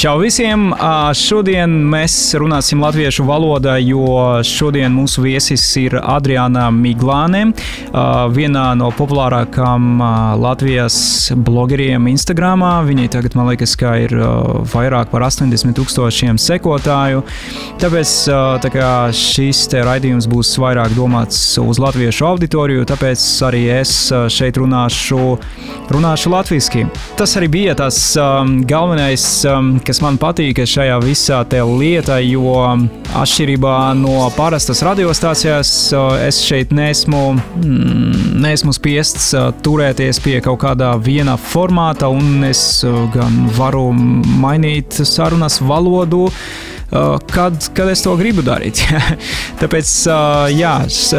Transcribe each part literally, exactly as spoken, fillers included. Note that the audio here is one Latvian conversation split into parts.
Čau visiem! Šodien mēs runāsim latviešu valodā, jo šodien mūsu viesis ir Adriāna Miglāne, vienā no populārākām Latvijas blogeriem Instagramā. Viņai tagad, man liekas, ka ir vairāk par astoņdesmit tūkstošiem sekotāju. Tāpēc tā kā šis te raidījums būs vairāk domāts uz latviešu auditoriju, tāpēc arī es šeit runāšu, runāšu latviski. Tas arī bija tas um, galvenais, um, kas man patīk šajā visā te lietā, jo atšķirībā no parastas radiostācijas es šeit neesmu, mm, neesmu spiests turēties pie kaut kādā viena formāta, un es gan varu mainīt sarunas valodu, Kad, kad es to gribu darīt. Tāpēc, jā,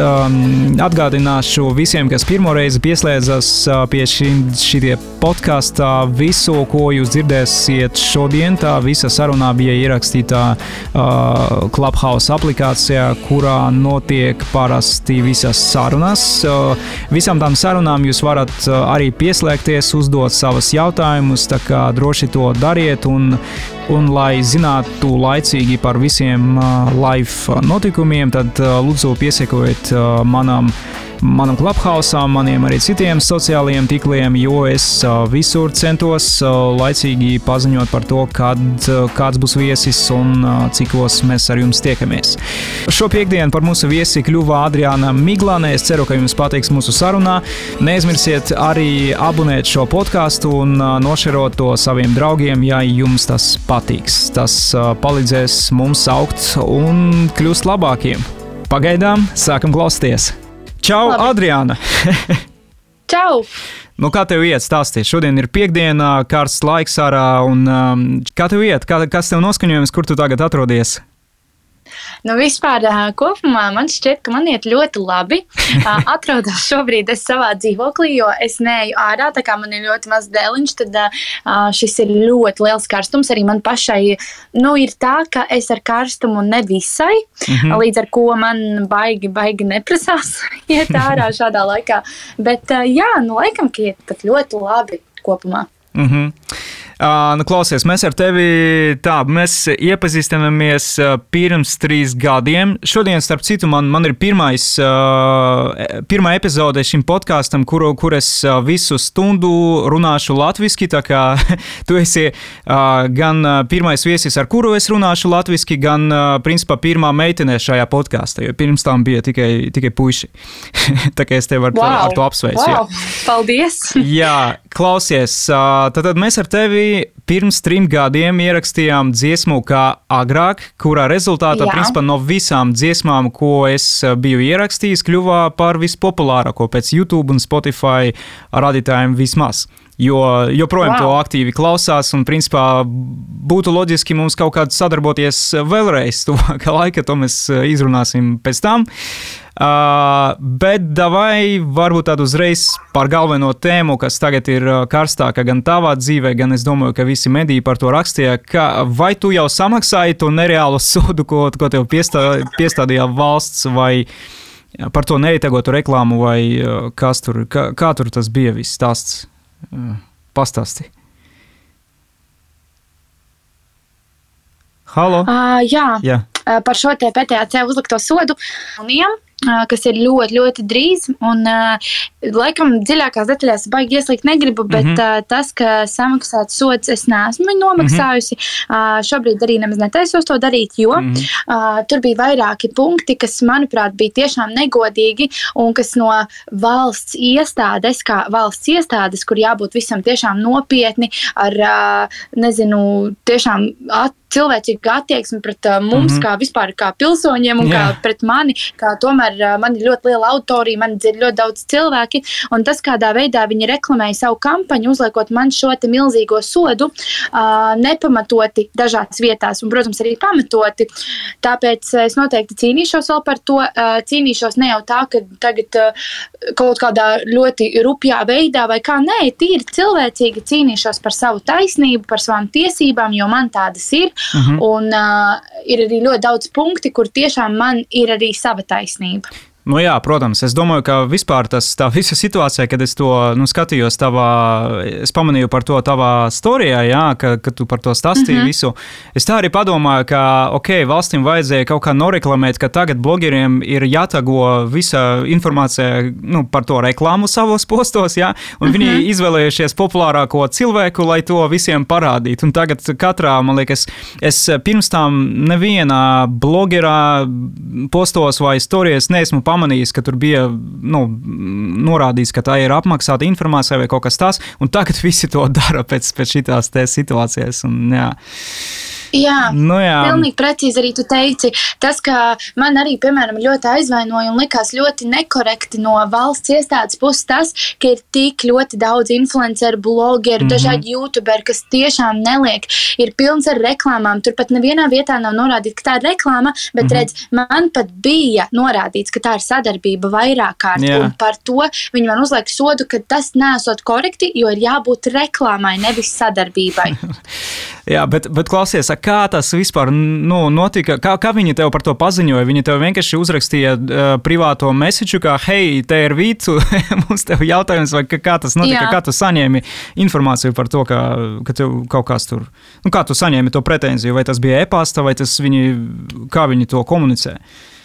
atgādināšu visiem, kas pirmoreiz pieslēdzas pie šī, šitie podkastā, visu, ko jūs dzirdēsiet šodien, tā visa sarunā bija ierakstītā uh, Clubhouse aplikācijā, kurā notiek parasti visas sarunas. Uh, visām tām sarunām jūs varat uh, arī pieslēgties, uzdot savas jautājumus, tā kā droši to dariet, un Un, lai zinātu laicīgi par visiem uh, live notikumiem, tad uh, lūdzu piesekojiet uh, manam, manam Clubhouse'am, maniem arī citiem sociālajiem tīkliem, jo es uh, visur centos uh, laicīgi paziņot par to, kad uh, kāds būs viesis un uh, cikos mēs ar jums tiekamies. Šo piekdienu par mūsu viesi kļuva Adriāna Miglāne. Es ceru, ka jums patiks mūsu sarunā. Neaizmirsiet arī abonēt šo podcastu un uh, nošerot to saviem draugiem, ja jums tas patiks. Tas uh, palīdzēs mums augt un kļūst labākiem. Pagaidām sākam klausīties. Čau, Labi. Adriāna! Čau! Nu, kā tev iet stāstīt? Šodien ir piekdiena, karsts laiks ārā, un um, kā tev iet? Kā, kas tev noskaņojums, kur tu tagad atrodies? Nu, vispār kopumā man šķiet, ka man iet ļoti labi. Atrodos šobrīd es savā dzīvoklī, jo es neeju ārā, tā kā man ir ļoti maz dēliņš, tad šis ir ļoti liels karstums. Arī man pašai, nu, ir tā, ka es ar karstumu nevisai, mm-hmm. līdz ar ko man baigi, baigi neprasās iet ārā šādā laikā. Bet jā, nu, laikam, ka iet pat ļoti labi kopumā. Mhm. Uh, nu, klausies, mēs ar tevi tā, mēs iepazīstamies uh, pirms trīs gadiem. Šodien, starp citu, man, man ir pirmais, uh, pirmā epizode šim podkastam, kur, kur es uh, visu stundu runāšu latviski, tā kā tu esi uh, gan pirmais viesis, ar kuru es runāšu latviski, gan, uh, principā, pirmā meitene šajā podkastā, jo pirms tam bija tikai, tikai puiši. Tā kā es tevi ar, wow. ar to apsveicu. Wow. Paldies! Jā, klausies, uh, tad mēs ar tevi pirms trim gadiem ierakstījām dziesmu kā agrāk, kurā rezultātā, Jā. principā, no visām dziesmām, ko es biju ierakstījis, kļuva par vispopulārāko pēc YouTube un Spotify radītājiem vismaz. Jo joprojām wow. to aktīvi klausās, un, principā, būtu loģiski mums kaut kādā sadarboties vēlreiz tuvākā laika, to mēs izrunāsim pēc tam. Uh, bet davai varbūt tādu uzreiz par galveno tēmu, kas tagad ir karstāka gan tavā dzīvē, gan es domāju, ka visi mediji par to rakstīja, ka vai tu jau samaksāji to nereālo sodu, ko, ko tev piestā, piestādīja valsts, vai par to neitagotu reklāmu, vai kas tur, kā, kā tur tas bija viss stāsts? Pastāsti. Halo? Uh, jā, jā. Uh, par šo te P T A C uzlikto sodu uniem, kas ir ļoti, ļoti drīz, un uh, laikam dziļākās detaļās baigi ieslīgt negribu, bet mm-hmm. uh, tas, ka samaksāt sods es neesmu nomaksājusi, mm-hmm. uh, šobrīd arī nemaz netaisos to darīt, jo mm-hmm. uh, tur bija vairāki punkti, kas, manuprāt, bija tiešām negodīgi, un kas no valsts iestādes, kā valsts iestādes, kur jābūt visam tiešām nopietni, ar, uh, nezinu, tiešām at, cilvēcīgu attieksmi pret uh, mums, mm-hmm. kā vispār kā pilsoņiem, un yeah. kā pret mani, kā tomēr man ir ļoti liela auditorija, man dzird ļoti daudz cilvēki, un tas, kādā veidā viņi reklamēja savu kampaņu, uzliekot man šo te milzīgo sodu, uh, nepamatoti dažās vietās, un, protams, arī pamatoti. Tāpēc es noteikti cīnīšos vēl par to, uh, cīnīšos ne jau tā, ka tagad uh, kaut kādā ļoti rupjā veidā, vai kā, nē, tīri cilvēcīgi cīnīšos par savu taisnību, par savām tiesībām, jo man tādas ir, mm-hmm. un uh, ir arī ļoti daudz punkti, kur tiešām man ir arī sava taisnība. Nu jā, protams, es domāju, ka vispār tas tā visa situācija, kad es to nu, skatījos tavā, es pamanīju par to tavā storijā, jā, ka, ka tu par to stāstīji mm-hmm. visu. Es tā arī padomāju, ka, ok, valstīm vajadzēja kaut kā noreklamēt, ka tagad blogeriem ir jātago visa informācija nu, par to reklāmu savos postos, jā, un mm-hmm. viņi izvēlējušies populārāko cilvēku, lai to visiem parādītu. Un tagad katrā, man liekas, es pirms tam nevienā blogerā postos vai storijas neesmu pamanījis, pamanījis, ka tur bija nu, norādīts, ka tā ir apmaksāta informācija vai kaut kas tāds, un tagad visi to dara pēc, pēc šitās te situācijas. Un, jā. Jā, nu, jā, pilnīgi precīzi arī tu teici. Tas, ka man arī, piemēram, ļoti aizvainoja un likās ļoti nekorekti no valsts iestādes puses tas, ka ir tik ļoti daudz influenceru, blogeru, mm-hmm. dažādi youtuberi, kas tiešām neliek, ir pilns ar reklāmām. Tur pat nevienā vietā nav norādīts, ka tā ir reklāma, bet mm-hmm. redz, man pat bija norādīts, ka tā ir sadarbība vairāk kārt, jā. Un par to viņi man uzliek sodu, ka tas nesot korekti, jo ir jābūt reklāmai, nevis sadarbībai. Jā, bet, bet klausies, kā tas vispār nu, notika, kā, kā viņi tev par to paziņoja? Viņi tev vienkārši uzrakstīja uh, privāto mesiču, kā, hei, te ir Vīcu, mums tev jautājums, vai kā tas notika, Jā. Kā tu saņēmi informāciju par to, ka, ka tev kaut kas tur, nu kā tu saņēmi to pretenziju, vai tas bija e-pasta, vai tas viņi, kā viņi to komunicē?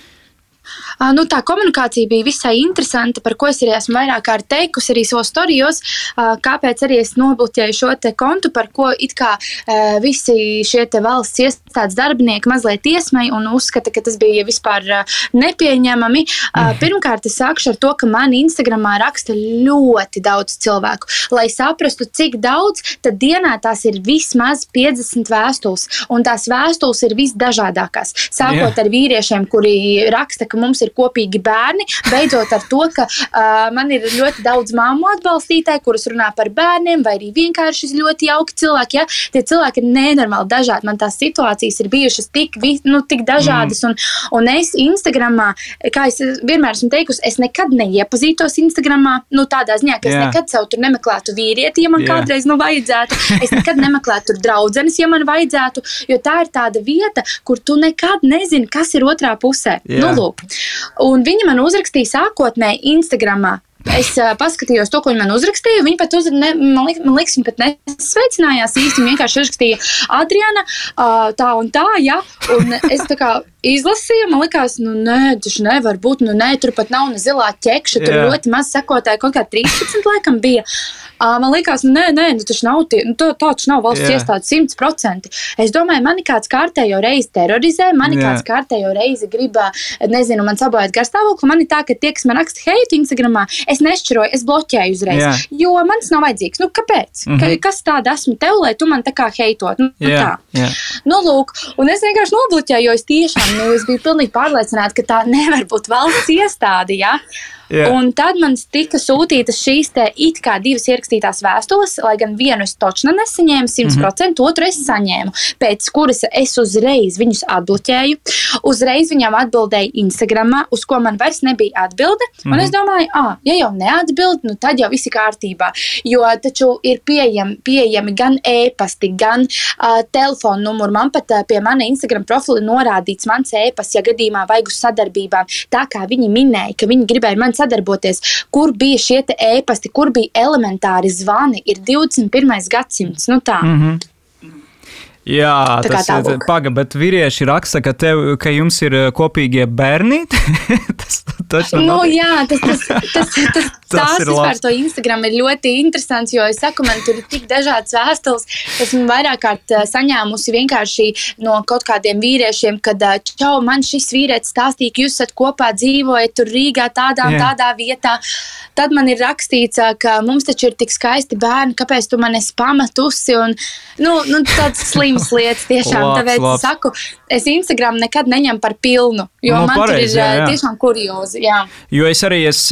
Uh, nu, tā komunikācija bija visai interesanta, par ko es arī esmu vairāk kārt teikusi arī savos storijos, uh, kāpēc arī es nobloķēju šo te kontu, par ko it kā uh, visi šie te valsts iestādes darbinieki mazliet iesmēja un uzskata, ka tas bija vispār uh, nepieņemami. Uh, pirmkārt, es sākšu ar to, ka man Instagramā raksta ļoti daudz cilvēku. Lai saprastu, cik daudz, tad dienā tās ir vismaz piecdesmit vēstules, un tās vēstules ir visdažādākās. Sākot yeah. ar vīriešiem, kuri raksta, ka mums ir kopīgi bērni, beidzot ar to, ka uh, man ir ļoti daudz mammu atbalstītāji, kuras runā par bērniem, vai arī vienkārši ļoti jauki cilvēki. Ja? Tie cilvēki ir nenormāli dažādi. Man tās situācijas ir bijušas tik, nu, tik dažādas, mm. un, un es Instagramā, kā es vienmēr esmu teikusi, es nekad neiepazītos Instagramā, nu tādā ziņā, ka es yeah. nekad sev tur nemeklētu vīrieti, ja man yeah. kādreiz nu vajadzētu, es nekad nemeklētu tur draudzenes, ja man vajadzētu, jo tā ir tāda vieta, kur tu nekad nezini, kas ir otrā pusē. Yeah. Nu, lūk. Un viņi man uzrakstīja sākotnēji Instagramā. Es uh, paskatījos to, ko viņi man uzrakstīja. Viņi pat uzra, ne, man, liek, man liekas, viņi pat nesveicinājās īsti. Viņi vienkārši uzrakstīja Adriana, uh, tā un tā, ja. Un es tā kā izlasīju, man likās, nu nē, taču nevar būt, nu nē, tur pat nav ne zilā ķekša, tur yeah. ļoti maz sekotāji, kaut kā trīspadsmit laikam bija. Uh, man likās, nu nē, nē, nu taču nav tie, nu tā taču nav valsts yeah. iestādes simts procenti. Es domāju, mani kāds kārtējo reizi terorizē, mani yeah. kāds kārtējo reizi grib, nezinu, man sabojāt garstāvokli, man ir tā, ka tie, kas man raksta heitu Instagramā, es nešķiroju, es bloķēju uzreiz, yeah. jo man tas nav vajadzīgs. Nu, kāpēc? Mm-hmm. Ka, kas tāda esmu tev, lai tu man tā kā heitot? Nu, yeah. tā. Yeah. Nu, lūk, un es vienkārši nobloķēju, jo es tiešām, nu, es biju pilnīgi pārliecināta, ka tā nevar būt valsts iestāde, ja? Yeah. Un tad man tika sūtītas šīs te it kā divas ierakstītās vēstules, lai gan vienu es točna nesaņēmu simt procenti, mm-hmm. otru es saņēmu, pēc kuras es uzreiz viņus atbloķēju, uzreiz viņām atbildēju Instagramā, uz ko man vairs nebija atbilde, mm-hmm. un es domāju, ah, ja jau neatbild, nu tad jau visi kārtībā, jo taču ir pieejami, pieejami gan e-pasti, gan uh, telefonu numuru, man pat uh, pie mana Instagram profila norādīts mans e-pasts, ja gadījumā vajag uz sadarbībām, tā kā viņi minēja, ka viņi gribēja man sadarboties, kur bija šie te ēpasti, kur bija elementāri zvani, ir divdesmit pirmais gadsimts, nu tā. Mm-hmm. Jā, tā tas ir paga, bet vīrieši raksta, ka, tev, ka jums ir kopīgie bērni. tas, tas nu jā, tas, tas, tas, tas, tas tās vispār to Instagram ir ļoti interesants, jo es saku, man tur ir tik dažādas vēstules, esmu vairāk kārt saņēmusi vienkārši no kaut kādiem vīriešiem, kad čau, man šis vīrietis stāstīja, ka jūs esat kopā dzīvojat tur Rīgā tādā un tādā vietā. Tad man ir rakstīts, ka mums taču ir tik skaisti bērni, kāpēc tu man esi pametusi un, nu, nu tāds slims lietas tiešām, labs, tāpēc labs. Saku, es Instagram nekad neņem par pilnu, jo no, man pareizi, tur ir jā, jā. tiešām kuriozi, jā. Jo es arī, es,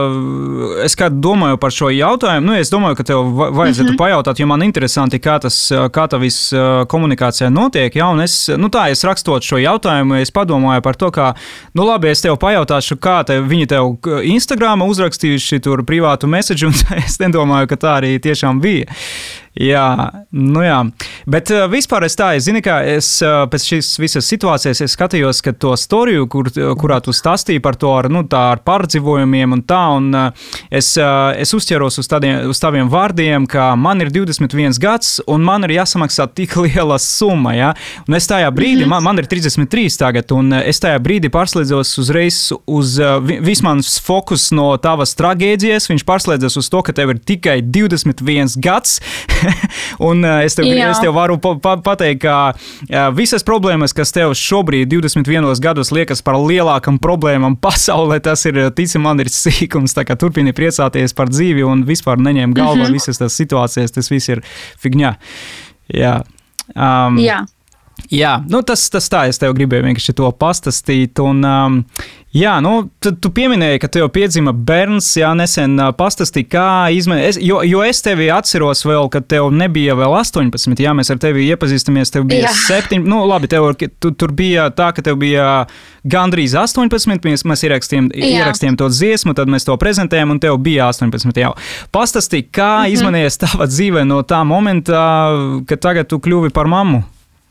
es kā domāju par šo jautājumu, nu, es domāju, ka tev vajadzētu mm-hmm. pajautāt, jo man interesanti, kā tas, kā tā viss komunikācijā notiek, jā, un es, nu tā, es rakstot šo jautājumu, es padomāju par to, kā, nu labi, es tev pajautāšu, kā te, viņi tev Instagramā uzrakstījuši tur privātu message, un es nedomāju, ka tā arī tiešām bija. Jā, nu jā. Bet uh, vispār es tā, es zinu, kā es uh, pēc šīs visas situācijas es skatījos, ka to storiju, kur, kurā tu stāstīji par to ar, nu, tā ar pārdzīvojumiem un tā, un uh, es, uh, es uzķeros uz, tādiem, uz taviem vārdiem, ka man ir divdesmit viens gads, un man ir jāsamaksā tik liela summa, ja? Un es tajā brīdī, mm-hmm. man, man ir trisdesmit trīs tagad, un es tajā brīdī pārslēdzos uzreiz uz uh, viss mans fokus no tavas tragēdijas, viņš pārslēdzas uz to, ka tev ir tikai divdesmit viens gads, un uh, es, tev, es tev varu pa, pa, pateikt, ka uh, visas problēmas, kas tev šobrīd divdesmit vienos gados liekas par lielākam problēmām pasaulē, tas ir, tici man, ir sīkums, tā kā turpini priecāties par dzīvi un vispār neņem galvā mm-hmm. visas tās situācijas, tas viss ir figņā. Jā. Um, Jā. Jā, nu tas, tas tā, es tev gribēju vienkārši to pastāstīt, un um, jā, nu, tu, tu pieminēji, ka tev piedzima bērns, jā, nesen uh, pastāstīji, kā izmēr, jo, jo es tevi atceros vēl, kad tev nebija vēl astoņpadsmit, jā, mēs ar tevi iepazīstamies, tev bija septiņi, nu, labi, tev, tu, tur bija tā, ka tev bija gandrīz astoņpadsmit, mēs, mēs ierakstījām, ierakstījām to dziesmu, tad mēs to prezentējām, un tev bija astoņpadsmit jau. Pastāstīji, kā mm-hmm. izmainījies tava dzīve no tā momenta, kad tagad tu kļuvi par mammu?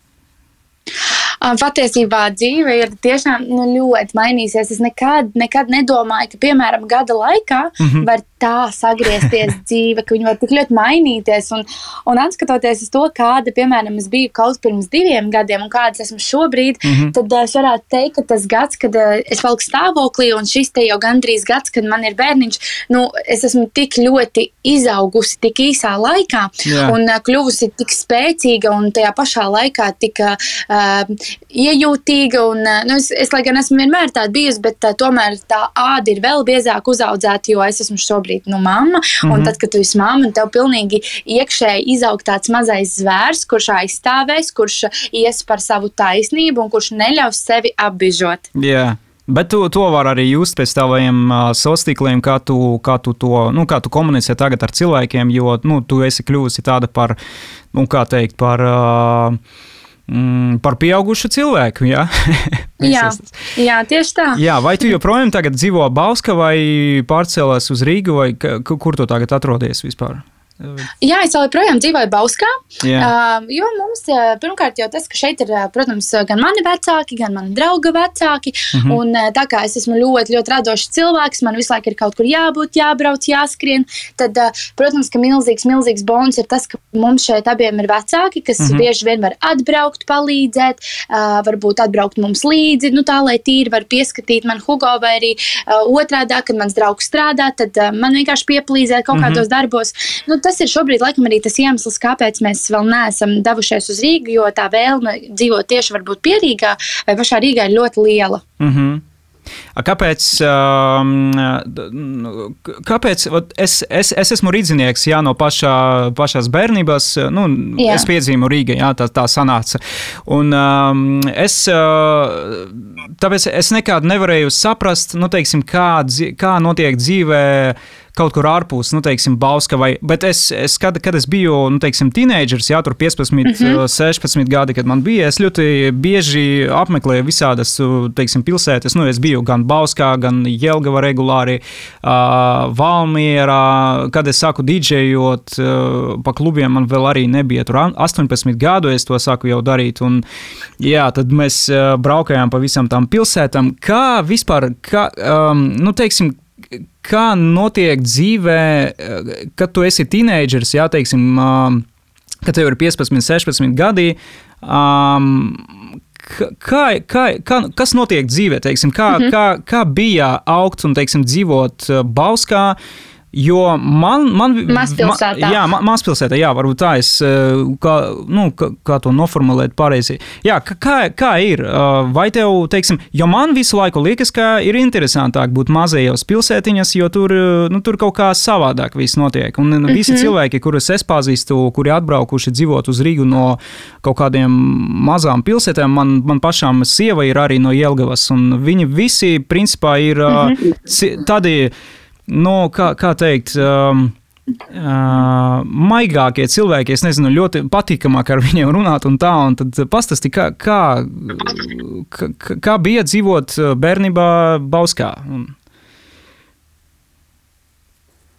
Patiesībā dzīve ir tiešām nu, ļoti mainīsies. Es nekad, nekad nedomāju, ka, piemēram, gada laikā mm-hmm. var tā sagriezties dzīve, ka viņi var tik ļoti mainīties. Un, un atskatoties uz to, kāda, piemēram, es biju kaut pirms diviem gadiem un kādas esmu šobrīd, mm-hmm. tad es varētu teikt, ka tas gads, kad es valku stāvoklī un šis te jau gandrīz gads, kad man ir bērniņš, nu, es esmu tik ļoti izaugusi tik īsā laikā yeah. un uh, kļuvusi tik spēcīga un tajā pašā laikā tik uh, iejūtīga. Un, uh, nu, es, es, lai gan esmu vienmēr tāda bijusi, bet uh, tomēr tā āda ir vēl biezāk uzaudzēta, jo es esmu šobrīd nu, mamma. Mm-hmm. Un tad, kad tu esi mamma, tev pilnīgi iekšēji izaug tāds mazais zvērs, kurš aizstāvēs, kurš ies par savu taisnību un kurš neļaus sevi apbižot. Jā. Yeah. Bet tu, to var arī just pēc taviem uh, sociāliem, kā tu, kā tu to, nu, kā tu komunicē tagad ar cilvēkiem, jo, nu, tu esi kļuvusi tāda par, nu, kā teikt, par, uh, mm, par pieaugušu cilvēku, jā? jā, jā, tieši tā. Jā, vai tu joprojām tagad dzīvo Bauska vai pārcēlās uz Rīgu, vai kur tu tagad atrodies vispār? Jā, es joprojām dzīvoju Bauskā, yeah. uh, jo mums pirmkārt jau tas, ka šeit ir, protams, gan mani vecāki, gan mani drauga vecāki, mm-hmm. un tā kā es esmu ļoti, ļoti radošs cilvēks, man visu laiku ir kaut kur jābūt, jābrauc, jāskrien, tad, uh, protams, ka milzīgs, milzīgs bonus ir tas, ka mums šeit abiem ir vecāki, kas mm-hmm. bieži vien var atbraukt, palīdzēt, uh, varbūt atbraukt mums līdzi, nu tā, lai tīri var pieskatīt man Hugo, vai arī uh, otrādā, kad mans draugs strādā, tad uh, man vienkārši pieplīzēt kaut mm-hmm. kādos darbos. Nu, tas ir šobrīd laikam arī tas iemesls, kāpēc mēs vēl neesam devušies uz Rīgu, jo tā vēlme dzīvot tieši varbūt pie Rīgā vai pašā Rīgā ir ļoti liela. Mhm. Kāpēc, kāpēc es, es, es esmu rīdzinieks, jā, no pašā, pašās bērnībās, nu, jā. Es piedzīvu Rīgā, jā, tā, tā sanāca. Un es, tāpēc es nekādu nevarēju saprast, nu, teiksim, kā, kā notiek dzīvē kaut kur ārpus, nu, teiksim, Bauska vai, bet es, es kad, kad es biju, nu, teiksim, teenagers, jā, tur piecpadsmit, mm-hmm. sešpadsmit gadi, kad man bija, es ļoti bieži apmeklēju visādas, teiksim, pilsētas, nu, es biju gan Bauskā, gan Jelgava regulāri, uh, Valmierā, kad es sāku didžejot uh, pa klubiem, man vēl arī nebija tur astoņpadsmit gadu, es to sāku jau darīt, un, jā, tad mēs uh, braukājām pa visam tām pilsētām, kā vispār, kā, um, nu, teiksim, kā notiek dzīvē, kad tu esi teenagers, jā, teiksim, kad tev ir piecpadsmit, sešpadsmit gadi, um, kā, kā, kā, kas notiek dzīvē, teiksim, kā, mm-hmm. kā, kā bija augt un, teiksim, dzīvot Bauskā, jo man... man mazpilsētā. Ma, jā, ma, mazpilsētā, jā, varbūt tā es, kā, nu, kā, kā to noformulēt pareizi. Jā, kā, kā ir? Vai tev, teiksim, jo man visu laiku liekas, ka ir interesantāk būt mazajos pilsētiņas, jo tur, nu, tur kaut kā savādāk viss notiek. Un mm-hmm. visi cilvēki, kurus es pazīstu, kuri atbraukuši dzīvot uz Rīgu no kaut kādiem mazām pilsētām, man, man pašām sieva ir arī no Jelgavas, un viņi visi, principā, ir mm-hmm. tādi... Nu, kā, kā teikt, um, uh, maigākie cilvēki, es nezinu, ļoti patīkamāk ar viņiem runāt un tā, un tad pastāsti, kā, kā, kā, kā bija dzīvot bērnībā Bauskā? Un...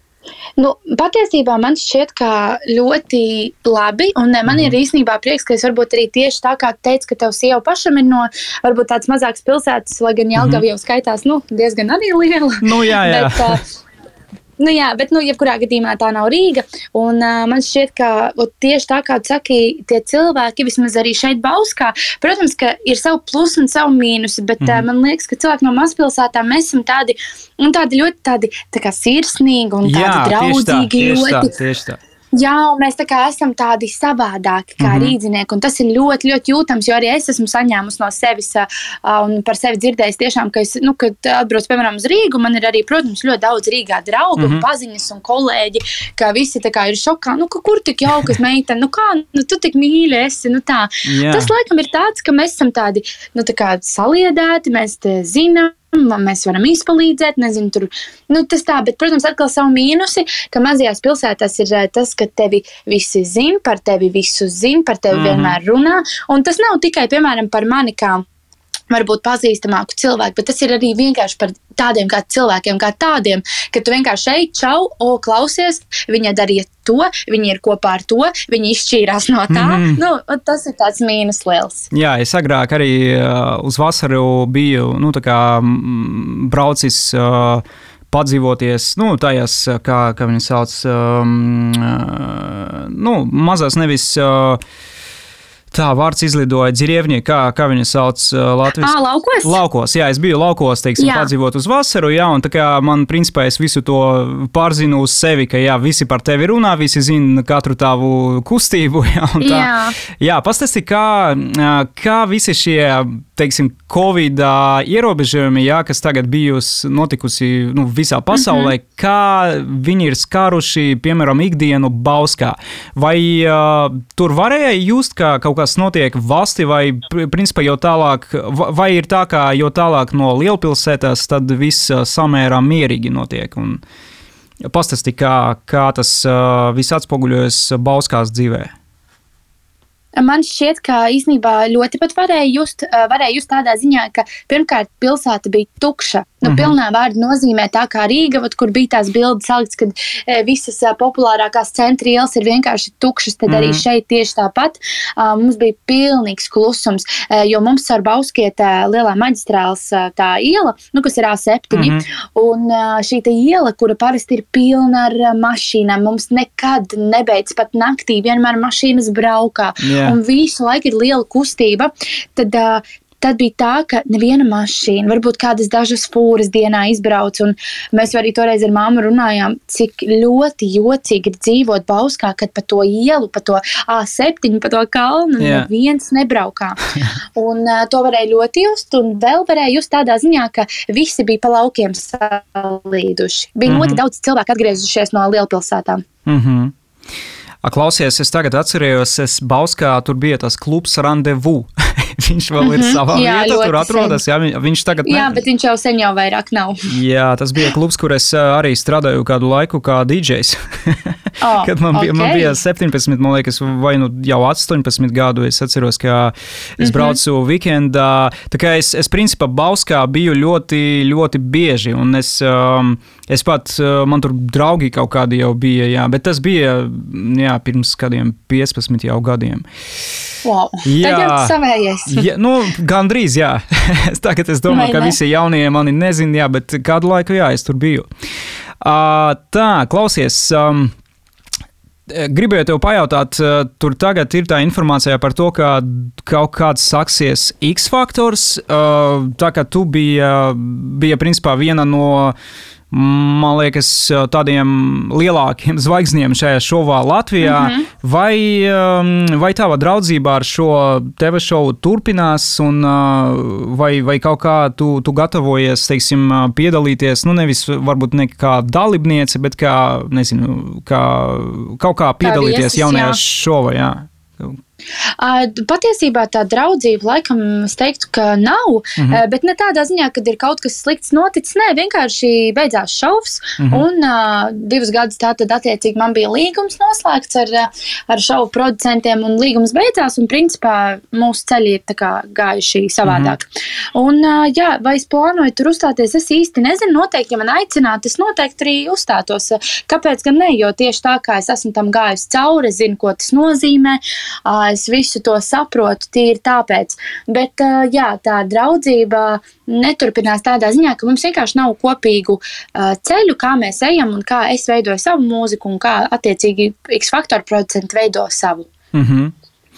Nu, patiesībā man šķiet, ka ļoti labi, un man mm. ir īstenībā prieks, ka es varbūt arī tieši tā kā teicu, ka tev sieva pašam ir no varbūt tāds mazāks pilsētas, lai gan Jelgava mm. jau skaitās, nu, diezgan arī liela. Nu, jā, jā. Bet, uh, Nu jā, bet nu, jebkurā gadījumā tā nav Rīga. Un, uh, man šķiet, ka ot, tieši tā kā tu saki, tie cilvēki, vismaz arī šeit Bauskā, protams, ka ir savu plusu un savu mīnusu, bet mm. uh, man liekas, ka cilvēki no mazpilsētām mēs esam tādi, un tādi ļoti tādi tā kā sirsnīgi un tādi jā, draudzīgi. Tieši tā, ļoti. tieši tā, tieši tā. Jā, un mēs tā kā esam tādi savādāki kā mm-hmm. rīdzinieki, un tas ir ļoti, ļoti jūtams, jo arī es esmu saņēmusi no sevis uh, un par sevi dzirdējis tiešām, ka es, nu, kad atbrauc, piemēram, uz Rīgu, man ir arī, protams, ļoti daudz Rīgā draugu, mm-hmm. paziņas un kolēģi, ka visi tā kā ir šokā, nu, ka kur tik jaukas meitene, nu kā, nu, tu tik mīļi esi, nu tā. Yeah. Tas, laikam, ir tāds, ka mēs esam tādi, nu, tā kā saliedēti, mēs te zinām, mēs varam izpalīdzēt, nezinu, tur, nu, tas tā, bet, protams, atkal savu mīnusi, ka mazajās pilsētās ir tas, ka tevi visi zin, par tevi visu zin, par tevi mm-hmm. vienmēr runā, un tas nav tikai, piemēram, par mani kā varbūt pazīstamāku cilvēku, bet tas ir arī vienkārši par tādiem kā cilvēkiem, kā tādiem, ka tu vienkārši šeit, čau, o, klausies, viņa darīja to, viņi ir kopā ar to, viņi izšķīrās no tā, mm. nu, tas ir tāds mīnus liels. Jā, es agrāk arī uh, uz vasaru biju, nu, tā kā m, braucis uh, padzīvoties, nu, tajās, kā, kā viņi sauc, um, uh, nu, mazās nevis... Uh, Tā vārds izlidoja Dzirievņie, kā, kā viņa sauc uh, Latvijas. Ā, laukos? Laukos, jā, es biju laukos, teiksim, jā. Padzīvot uz vasaru, jā, un tā kā man, principā, es visu to pārzinu uz sevi, ka, jā, visi par tevi runā, visi zina katru tavu kustību, jā, un tā. Jā, jā pastāsti, kā, kā visi šie, teiksim, Covid ierobežojumi, jā, kas tagad bijusi notikusi, nu, visā pasaulē, mm-hmm. kā viņi ir skāruši, piemēram, ikdienu Bauskā. Vai uh, tur varēja just, kā kaut kas notiek valsti, vai principā jau tālāk, vai ir tā, kā jau tālāk no lielpilsētās, tad viss samērā mierīgi notiek? Un pastāsti, kā, kā tas uh, viss atspoguļojas Bauskās dzīvē? Man šķiet, ka īstenībā ļoti pat varēja just, varēja just tādā ziņā, ka pirmkārt pilsēta bija tukša. Nu, mm-hmm. pilnā vārda nozīmē tā kā Rīga, kur bija tās bildes salikts, kad e, visas a, populārākās centra ielas ir vienkārši tukšas, tad mm-hmm. arī šeit tieši tāpat. A, mums bija pilnīgs klusums, e, jo mums ar Bauskiet lielā maģistrāls a, tā iela, nu, kas ir A septiņi, mm-hmm. un a, šī tā iela, kura parasti ir pilna ar a, mašīnām, mums nekad nebeidz pat naktī, vienmēr mašīnas braukā. Yeah. Un visu laiku ir liela kustība, tad, uh, tad bija tā, ka neviena mašīna, varbūt kādas dažas fūras dienā izbrauc, un mēs arī toreiz ar mammu runājām, cik ļoti jocīgi ir dzīvot Bauskā, kad pa to ielu, pa to A septiņi, pa to kalnu, yeah. neviens nebraukā. Un uh, to varēja ļoti just, un vēl varēja just tādā ziņā, ka visi bija pa laukiem salīduši. Bija mm-hmm. ļoti daudz cilvēku atgriezušies no lielpilsētām. Mhm. Klausies, es tagad atcerējos, es Bauskā, tur bija tas klubs Randevu. Viņš vēl ir savā jā, vietā, tur atrodas. Jā, viņš tagad ne... jā, bet viņš jau sen jau vairāk nav. Jā, tas bija klubs, kur es arī strādāju kādu laiku kā dīdžejs. Oh, kad man bija, okay. man bija septiņpadsmit, man liekas, vai nu jau astoņpadsmit gadu, es atceros, ka es braucu mm-hmm. weekendā. Tā kā es, es principā Bauskā biju ļoti, ļoti bieži, un es, um, es pat, man tur draugi kaut kādi jau bija, jā, bet tas bija, jā, pirms kādiem piecpadsmit jau gadiem. Wow, jā, tagad savējies. Jā, nu, gandrīz, jā. Tagad es domāju, ka visi jaunie mani nezin, jā, bet kādu laiku, jā, es tur biju. Uh, tā, klausies, um, gribēju tev pajautāt, tur tagad ir tā informācija par to, ka kaut kāds saksies X-faktors, tā kā tu bija, bija principā viena no, man liekas, tādiem lielākiem zvaigzniem šajā šovā Latvijā. Mm-hmm. Vai, vai tava draudzība ar šo T V šovu turpinās, un vai, vai kaut kā tu, tu gatavojies, teiksim, piedalīties, nu nevis varbūt ne kā dalībniece, bet kā, nezinu, kā, kaut kā piedalīties kā viesis, jaunajā jā. šovā, jā? Uh, patiesībā tā draudzība, laikam, es teiktu, ka nav, mm-hmm. uh, bet ne tādā ziņā, kad ir kaut kas slikts noticis. Nē, vienkārši beidzās šovs, mm-hmm. un uh, divus gadus tātad attiecīgi man bija līgums noslēgts ar, ar šovu producentiem, un līgums beidzās, un principā mūsu ceļi ir tā kā gājuši savādāk. Mm-hmm. Un, uh, jā, vai es plānoju tur uzstāties, es īsti nezinu, noteikti, ja man aicinātu, es noteikti arī uzstātos. Kāpēc gan ne, jo tieši tā kā es esmu tam gājusi cauri, es zinu, ko tas nozīmē, uh, es visu to saprotu, tīri tāpēc. Bet jā, tā draudzība neturpinās tādā ziņā, ka mums vienkārši nav kopīgu ceļu, kā mēs ejam un kā es veidoju savu mūziku un kā attiecīgi X-Factor producenti veido savu. Mm-hmm.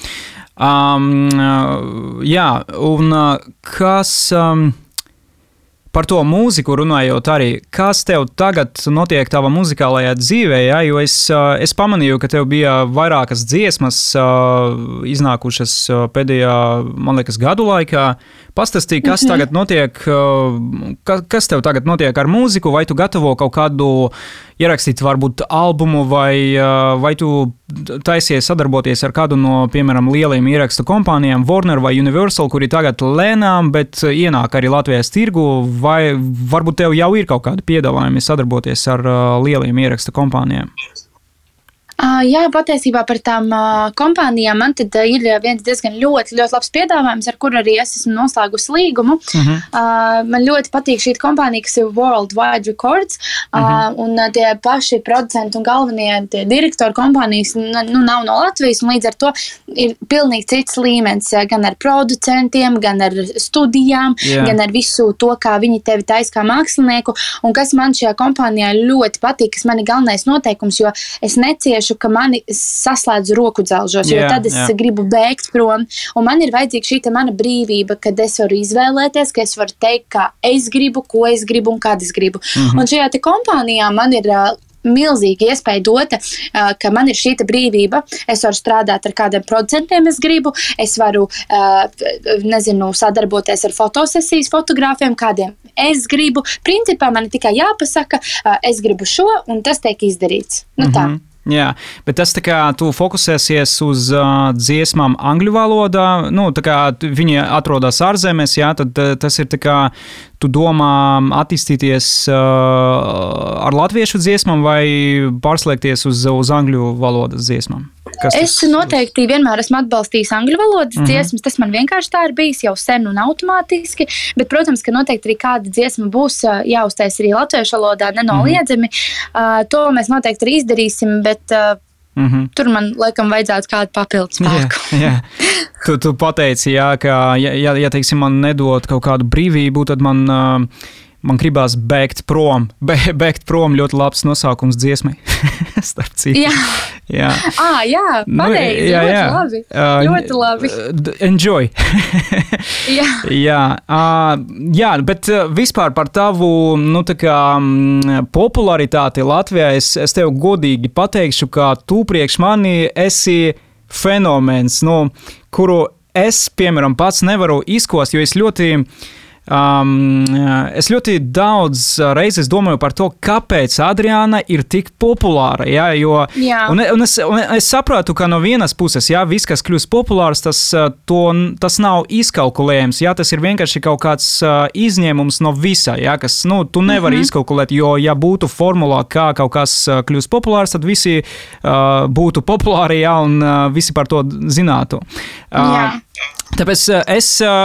Um, jā, un kas... Um... Par to mūziku runājot arī, kas tev tagad notiek tavā muzikālajā dzīvē, ja? Jo es, es pamanīju, ka tev bija vairākas dziesmas iznākušas pēdējā, man liekas, gadu laikā. Pastāstīja, kas mm-hmm. tagad notiek, kas tev tagad notiek ar mūziku, vai tu gatavo kaut kādu ierakstīt varbūt albumu, vai, vai tu taisies sadarboties ar kādu no, piemēram, lielajiem ierakstu kompānijām, Warner vai Universal, kuri tagad lēnām, bet ienāk arī Latvijas tirgu, vai varbūt tev jau ir kaut kādi piedāvājumi sadarboties ar lielajiem ierakstu kompānijām? Uh, jā, patiesībā par tām uh, kompānijām man tad uh, ir viens diezgan ļoti, ļoti labs piedāvājums, ar kuru arī es esmu noslēgusi līgumu. Uh-huh. Uh, man ļoti patīk šī kompānija, kas ir Worldwide Records, uh, uh-huh. un uh, tie paši producenti un galvenie tie direktori kompānijas nu, nav no Latvijas, un līdz ar to ir pilnīgi cits līmenis, gan ar producentiem, gan ar studijām, yeah. gan ar visu to, kā viņi tevi taisa kā mākslinieku, un kas man šajā kompānijā ļoti patīk, kas man ir galvenais noteikums, jo es neciešu, ka mani saslēdz roku dzelžos, jo yeah, tad es yeah. gribu bēgt prom, un man ir vajadzīga šī mana brīvība, kad es varu izvēlēties, ka es varu teikt, kā es gribu, ko es gribu un kad es gribu. Mm-hmm. Un šajā te kompānijā man ir uh, milzīga iespēja dota, uh, ka man ir šī brīvība, es varu strādāt ar kādiem producentiem, es gribu, es varu, uh, nezinu, sadarboties ar fotosesijas fotogrāfiem, kādiem es gribu. Principā man ir tikai jāpasaka, uh, es gribu šo, un tas tiek izdarīts. Nu tā. Mm-hmm. Jā, bet tas tā kā tu fokusēsies uz uh, dziesmām angļu valodā, nu, tā kā viņi atrodas ārzemēs, jā, tad tas ir tā kā tu domā attīstīties uh, ar latviešu dziesmām vai pārslēgties uz, uz angļu valodas dziesmām? Kas es tas? Noteikti vienmēr esmu atbalstījis angļu valodas mm-hmm. dziesmas, tas man vienkārši tā ir bijis jau sen un automātiski, bet, protams, ka noteikti arī kāda dziesma būs jāuztais arī latviešu valodā nenoliedzami. Mm-hmm. Uh, to mēs noteikti arī izdarīsim, bet uh, mm-hmm. tur man, laikam, vajadzētu kādu papildus spēku. Jā, jā. Tu, tu pateici, jā, ka, ja, ja, ja teiksim, man nedod kaut kādu brīvību, tad man... Uh, Man gribās bēgt prom. Be, bēgt prom ļoti labs nosaukums dziesmai. Starp citu. Jā. Jā. Ah, jā, pareizi. Jā, ļoti jā. labi. Uh, ļoti labi. Enjoy. jā. Jā. Uh, jā, bet vispār par tavu, nu, tā kā popularitāti Latvijā, es, es tev godīgi pateikšu, ka tu priekš mani esi fenomens, nu, kuru es, piemēram, pats nevaru izkost, jo es ļoti... Um, es ļoti daudz reizes domāju par to, kāpēc Adriāna ir tik populāra, jā, jo, jā. Un, un, es, un es sapratu, ka no vienas puses, jā, viss, kas kļūst populārs, tas, to, tas nav izkalkulējams, jā, tas ir vienkārši kaut kāds uh, izņēmums no visa, jā, kas, nu, tu nevari mm-hmm. izkalkulēt, jo, ja būtu formulā, kā kaut kas kļūst populārs, tad visi uh, būtu populāri, jā, un uh, visi par to zinātu. Uh, jā. Tāpēc es,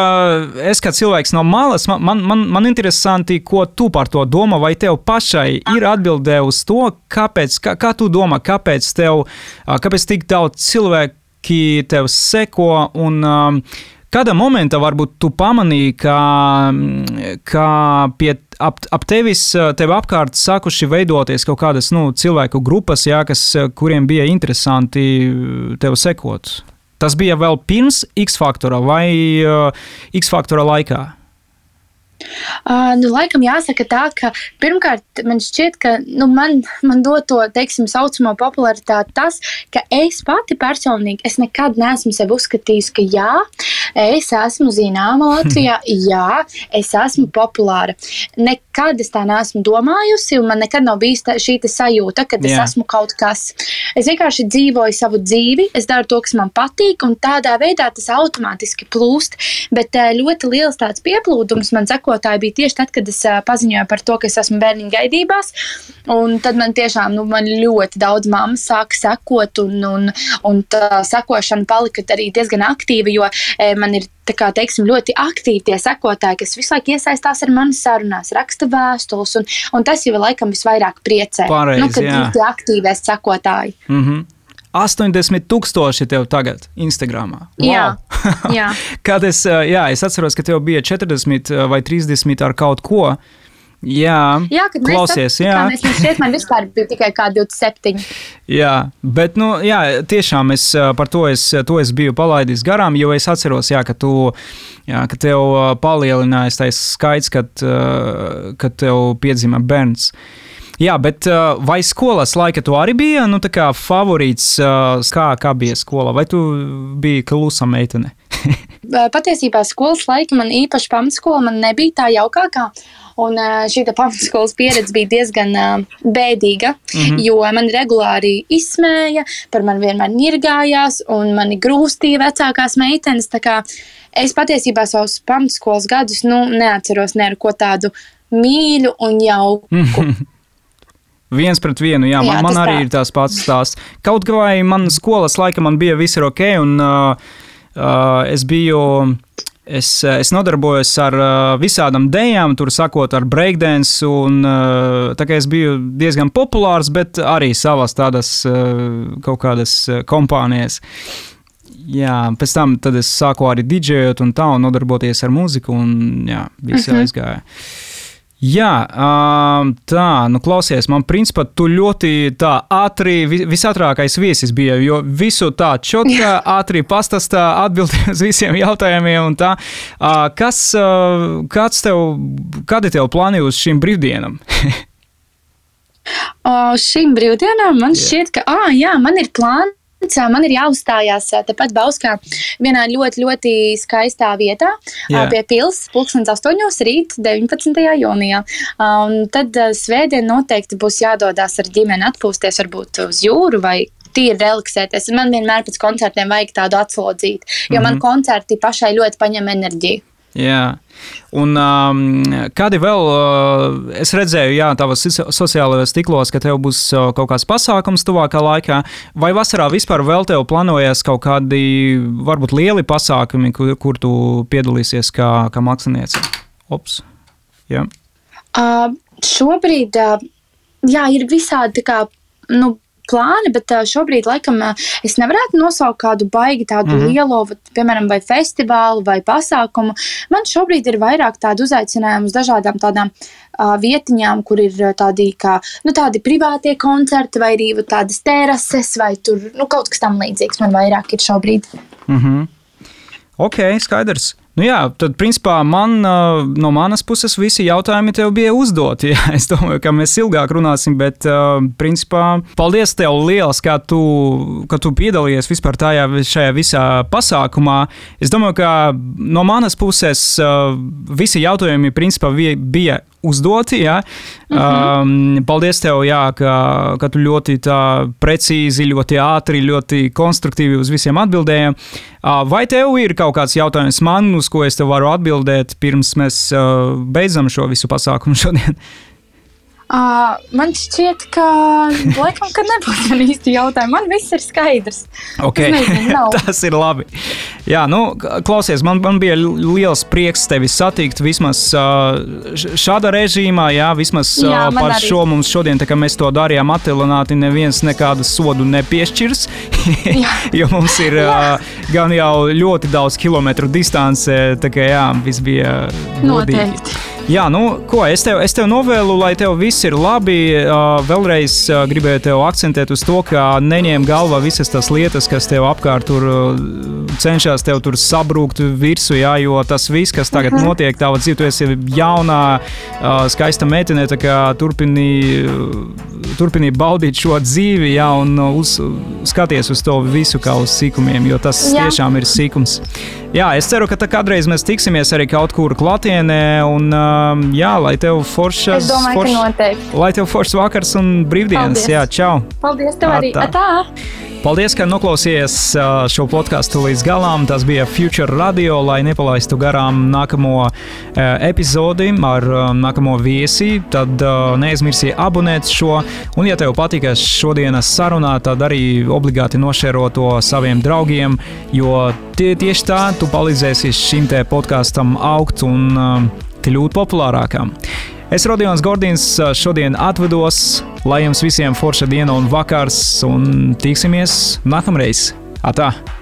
es kā cilvēks no malas, man, man, man interesanti, ko tu par to domā, vai tev pašai ir atbildē uz to, kāpēc, kā, kā tu domā, kāpēc tev, kāpēc tik daudz cilvēki tev seko, un um, kādā momentā varbūt tu pamanīji, ka, ka pie, ap, ap tevis, tev apkārt sākuši veidoties kaut kādas, nu, cilvēku grupas, jā, kas, kuriem bija interesanti tev sekot? Tas bija vēl pirms X-Factora vai uh, X-Factora laikā? Uh, nu, laikam jāsaka tā, ka pirmkārt man šķiet, ka nu, man, man dod to, teiksim, saucamo popularitāti tas, ka es pati personīgi, es nekad neesmu sevi uzskatījusi, ka jā, es esmu zināma Latvijā, jā, es esmu populāra. Nekad es tā neesmu domājusi, un man nekad nav bijis tā, šī sajūta, ka es jā. esmu kaut kas. Es vienkārši dzīvoju savu dzīvi, es daru to, kas man patīk, un tādā veidā tas automātiski plūst, bet ļoti liels tāds pieplūdums man sekotāji bija tieši tad, kad es paziņoju par to, ka es esmu bērniņu gaidībās, un tad man tiešām, nu, man ļoti daudz mammas sāka sekot, un, un, un tā sekošana palika arī diezgan aktīva, jo e, man ir, tā kā, teiksim, ļoti aktīvi tie sekotāji, kas visu laiku iesaistās ar manas sarunās, raksta vēstules, un, un tas jau laikam visvairāk priecē. Pareizi, nu, kad jā. ir tie aktīvie sekotāji. Mhm. astoņdesmit tūkstoši tev tagad Instagramā. Wow. Jā, jā. Kad es, jā, es atceros, ka tev bija četrdesmit vai trīsdesmit ar kaut ko. Jā, jā kad klausies, mēs jā. Mēs šķiet, man vispār bija tikai kā divdesmit septiņi. Jā, bet, nu, jā, tiešām es par to es, to es biju palaidis garām, jo es atceros, jā, ka tu, jā, ka tev palielinājās tais skaits, kad, kad tev piedzima bērns. Jā, bet vai skolas laika tu arī bija, nu, tā kā favorīts, kā, kā bija skola, vai tu biji klusa meitene? Patiesībā skolas laika man īpaši pamatskola man nebija tā jaukākā, un šī pamatskolas pieredze bija diezgan bēdīga, mm-hmm. jo man regulāri izsmēja, par mani vienmēr nirgājās, un mani grūstīja vecākās meitenes, tā kā es patiesībā savus pamatskolas gadus, nu, neatceros ne ar ko tādu mīļu un jauku. Viens pret vienu, jā, man, jā man arī tā. Ir tās pats stāsts. Kaut vai man skolas laika man bija viss ir ok, un uh, uh, es biju, es, es nodarbojos ar uh, visādām dejām, tur sakot ar breakdance, un uh, tā kā es biju diezgan populārs, bet arī savas tādas uh, kaut kādas kompānijas. Jā, pēc tam tad es sāku arī didžejot un tā, un nodarboties ar mūziku, un jā, viss mm-hmm. aizgāja. Jā, tā, nu klausies, man principā tu ļoti tā ātri, visātrākais viesis bija, jo visu tā čotkā ātri pastāstā atbildēja uz visiem jautājumiem un tā. Kas, kāds tev, kādi tev plāni uz šīm brīvdienām? Uz šīm brīvdienām man šķiet, ka, ā, jā, man ir plāni. Man ir jāuzstājās tepat Bauskā vienā ļoti, ļoti skaistā vietā Jā. Pie pils, pulkstens astoņos rīt deviņpadsmitajā jūnijā. Un tad svētdien noteikti būs jādodās ar ģimeni atpūsties varbūt uz jūru vai tīri relaksēties. Man vienmēr pēc koncertiem vajag tādu atslodzīti, jo mm-hmm. man koncerti pašai ļoti paņem enerģiju. Jā, un um, kādi vēl, uh, es redzēju, jā, tavas sociālajos tīklos, ka tev būs uh, kaut kāds pasākums tuvākā laikā, vai vasarā vispār vēl tev plānojas kaut kādi, varbūt lieli pasākumi, kur, kur tu piedalīsies kā, kā māksliniece? Ops, jā. Uh, šobrīd, uh, jā, ir visādi tā kā, nu, plāni, bet šobrīd laikam es nevarētu nosaukt kādu baigi tādu mm-hmm. lielo, piemēram, vai festivālu vai pasākumu. Man šobrīd ir vairāk tādu uzaicinājumu uz dažādām tādām uh, vietiņām, kur ir tādi, kā, nu, tādi privātie koncerti vai arī tādas terases vai tur, nu, kaut kas tam līdzīgs man vairāk ir šobrīd. Mhm. Ok, skaidrs. Nu jā, tad principā man, no manas puses visi jautājumi tev bija uzdoti. Jā, es domāju, ka mēs ilgāk runāsim, bet principā paldies tev liels, ka tu, ka tu piedalījies vispār tajā, šajā visā pasākumā. Es domāju, ka no manas puses visi jautājumi principā bija uzdoti, jā. Mm-hmm. Um, paldies tev, jā, ka, ka tu ļoti tā precīzi, ļoti ātri, ļoti konstruktīvi uz visiem atbildēji. Uh, vai tev ir kaut kāds jautājums man, uz ko es tev varu atbildēt, pirms mēs uh, beidzam šo visu pasākumu šodien? Uh, man šķiet, ka laikam, kad nebūs man īsti jautājumi. Man viss ir skaidrs. Okay. Nezinu, tas ir labi. Jā, nu, klausies, man, man bija liels prieks tevi satikt vismaz uh, šāda režīmā, jā, vismaz uh, jā, par arī. Šo mums šodien, tā kā mēs to darījām attālināti, neviens nekādu sodu nepiešķirs, jo mums ir uh, gan jau ļoti daudz kilometru distance, tā kā jā, viss bija godīgi. Noteikti. Jā, nu, ko, es tev, es tev novēlu, lai tev viss ir labi. Uh, vēlreiz uh, gribēju tev akcentēt uz to, ka neņem galvā visas tās lietas, kas tev apkārt tur uh, cenšas tev tur sabrūkt virsū, jā, jo tas viss, kas tagad uh-huh. notiek, tava dzīve, tu esi jaunā, uh, skaista meitene, tā kā turpini, uh, turpini baudīt šo dzīvi, jā, un uz, skaties uz to visu kā uz sīkumiem, jo tas jā. tiešām ir sīkums. Jā, es ceru, ka tā kādreiz mēs tiksimies arī kaut kur klātienē, un um, jā, lai tev foršas... Es domāju, forš, ka noteikti. Lai tev foršs vakars un brīvdienas. Paldies. Jā, čau. Paldies tev arī. Atā. Atā. Paldies, ka noklausījies šo podcastu līdz galām. Tas bija Future Radio, lai nepalaistu garām nākamo epizodi ar nākamo viesi. Tad neaizmirsī abonēt šo. Un, ja tev patika šodienas sarunā, tad arī obligāti nošēro to saviem draugiem, jo tie, tieši tā tu palīdzēsi šim te podkastam augt un kļūt populārākam. Es, Rodions Gordins, šodien atvedos, lai jums visiem forša diena un vakars, un tiksimies nākamreiz. Atā!